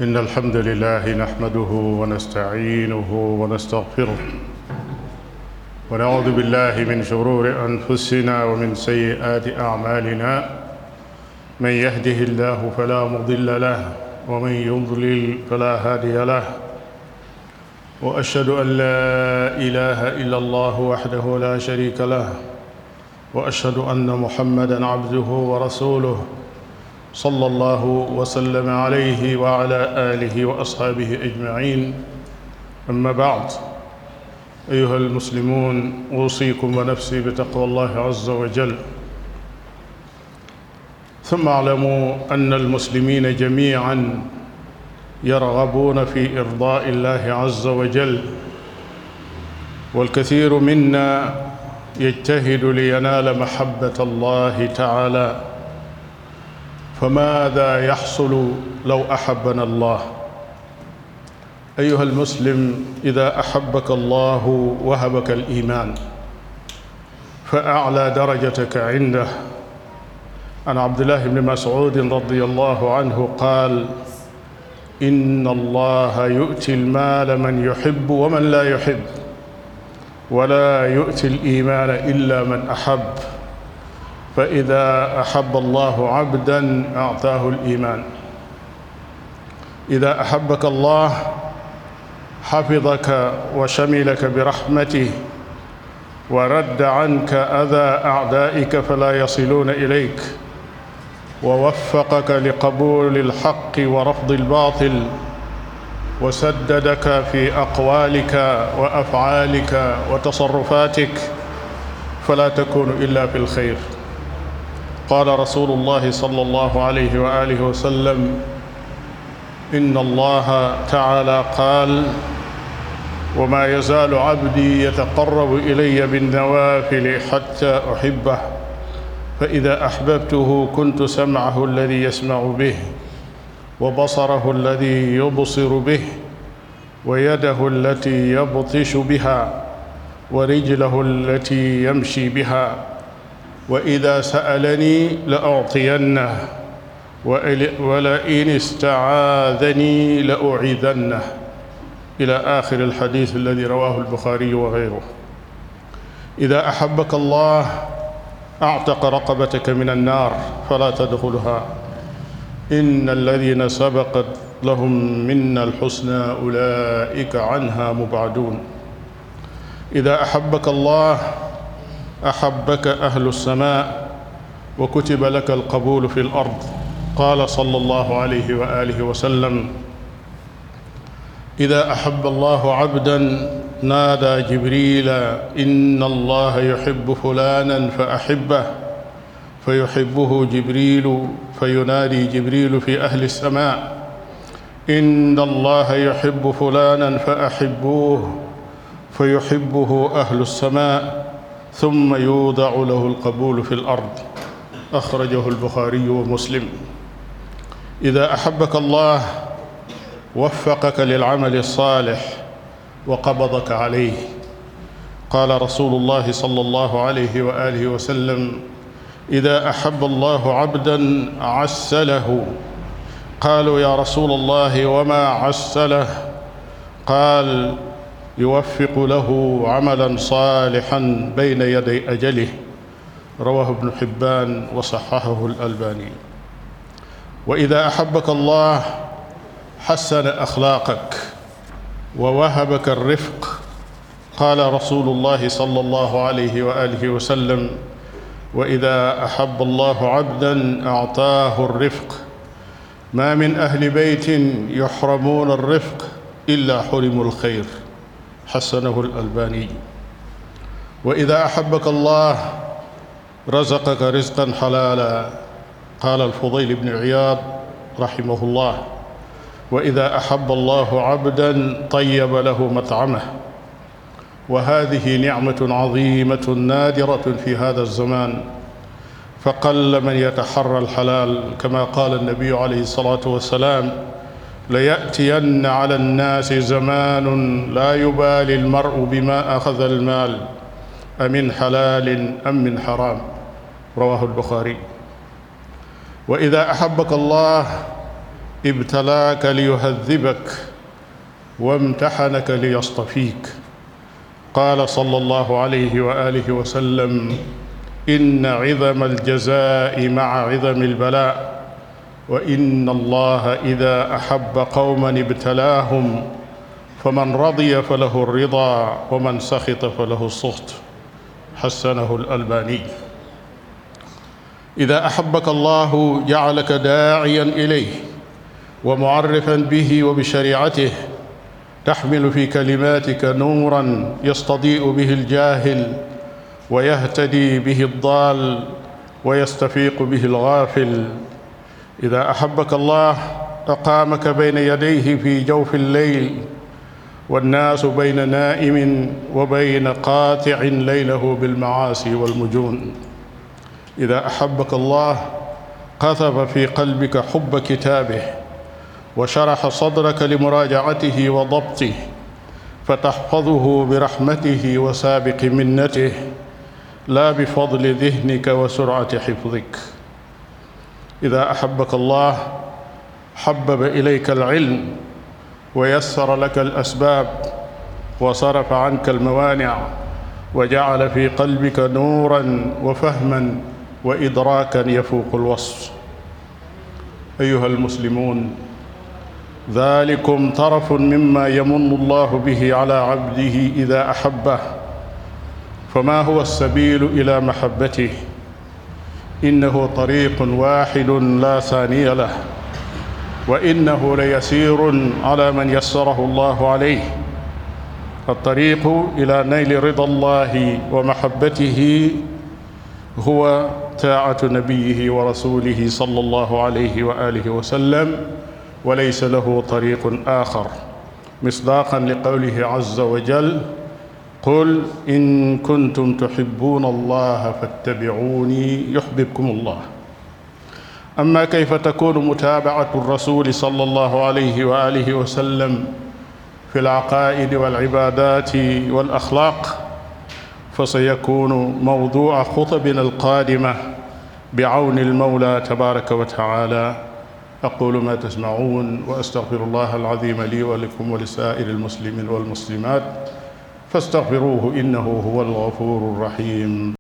إن الحمد لله نحمده ونستعينه ونستغفره ونعوذ بالله من شرور أنفسنا ومن سيئات أعمالنا. من يهده الله فلا مضل له ومن يضلل فلا هادي له، وأشهد أن لا إله إلا الله وحده لا شريك له، وأشهد أن محمدًا عبده ورسوله صلى الله وسلم عليه وعلى آله وأصحابه أجمعين. أما بعد، أيها المسلمون، أوصيكم ونفسي بتقوى الله عز وجل. ثم اعلموا أن المسلمين جميعاً يرغبون في إرضاء الله عز وجل، والكثير منا يجتهد لينال محبة الله تعالى. فماذا يحصل لو أحبنا الله؟ أيها المسلم، إذا أحبك الله وهبك الإيمان فأعلى درجتك عنده. عن عبد الله بن مسعود رضي الله عنه قال: إن الله يؤتي المال من يحب ومن لا يحب، ولا يؤتي الإيمان إلا من أحب. فإذا أحب الله عبداً أعطاه الإيمان. إذا أحبك الله حفظك وشملك برحمته، ورد عنك أذى أعدائك فلا يصلون إليك، ووفقك لقبول الحق ورفض الباطل، وسددك في أقوالك وأفعالك وتصرفاتك، فلا تكون إلا في الخير. قال رسول الله صلى الله عليه وآله وسلم: إن الله تعالى قال: وما يزال عبدي يتقرب إلي بالنوافل حتى أحبه، فإذا أحببته كنت سمعه الذي يسمع به، وبصره الذي يبصر به، ويده التي يبطش بها، ورجله التي يمشي بها، وإذا سألني لأعطينه، ولئن استعاذني لأعيذنه، إلى آخر الحديث الذي رواه البخاري وغيره. إذا أحبك الله أعتق رقبتك من النار فلا تدخلها. إن الذين سبقت لهم منا الحسنى أولئك عنها مبعدون. إذا أحبك الله أحبك أهل السماء، وكتب لك القبول في الأرض. قال صلى الله عليه وآله وسلم: إذا أحب الله عبداً نادى جبريل: إن الله يحب فلانا فأحبه، فيحبه جبريل، فينادي جبريل في أهل السماء: إن الله يحب فلانا فأحبوه، فيحبه أهل السماء، ثم يوضع له القبول في الأرض. أخرجه البخاري ومسلم. إذا أحبك الله وفقك للعمل الصالح وقبضك عليه. قال رسول الله صلى الله عليه وآله وسلم: إذا أحب الله عبداً عسله. قالوا: يا رسول الله وما عسله؟ قال: يوفق له عملاً صالحاً بين يدي أجله. رواه ابن حبان وصححه الألباني. وإذا أحبك الله حسن أخلاقك ووهبك الرفق. قال رسول الله صلى الله عليه وآله وسلم: وإذا أحب الله عبداً أعطاه الرفق. ما من أهل بيت يحرمون الرفق إلا حرموا الخير. حسنه الألباني. وإذا أحبك الله رزقك رزقاً حلالاً. قال الفضيل بن عياض رحمه الله: وإذا أحب الله عبداً طيب له مطعمه. وهذه نعمة عظيمة نادرة في هذا الزمان، فقل من يتحرى الحلال. كما قال النبي عليه الصلاة والسلام: ليأتين على الناس زمان لا يبالي المرء بما أخذ المال، أمن حلال أم من حرام. رواه البخاري. وإذا أحبك الله ابتلاك ليهذبك وامتحنك ليصطفيك. قال صلى الله عليه وآله وسلم: إن عظم الجزاء مع عظم البلاء، وإن الله إذا أحب قوما ابتلاهم، فمن رضي فله الرضا ومن سخط فله السخط. حسنه الألباني. إذا أحبك الله جعلك داعيا إليه ومعرفا به وبشريعته، تحمل في كلماتك نورا يستضيء به الجاهل ويهتدي به الضال ويستفيق به الغافل. إذا أحبك الله أقامك بين يديه في جوف الليل والناس بين نائم وبين قاطع ليله بالمعاصي والمجون. إذا أحبك الله قذف في قلبك حب كتابه وشرح صدرك لمراجعته وضبطه، فتحفظه برحمته وسابق منته لا بفضل ذهنك وسرعة حفظك. إذا أحبك الله حبب إليك العلم ويسر لك الأسباب وصرف عنك الموانع وجعل في قلبك نورا وفهما وإدراكا يفوق الوصف. أيها المسلمون، ذلكم طرف مما يمن الله به على عبده إذا أحبه، فما هو السبيل إلى محبته؟ إنه طريق واحد لا ثاني له، وإنه ليسير على من يسره الله عليه. الطريق إلى نيل رضا الله ومحبته هو طاعة نبيه ورسوله صلى الله عليه وآله وسلم، وليس له طريق آخر، مصداقا لقوله عز وجل: قل إن كنتم تحبون الله فاتبعوني يحببكم الله. أما كيف تكون متابعة الرسول صلى الله عليه وآله وسلم في العقائد والعبادات والأخلاق، فسيكون موضوع خطبنا القادمة بعون المولى تبارك وتعالى. أقول ما تسمعون وأستغفر الله العظيم لي ولكم ولسائر المسلمين والمسلمات، فاستغفروه إنه هو الغفور الرحيم.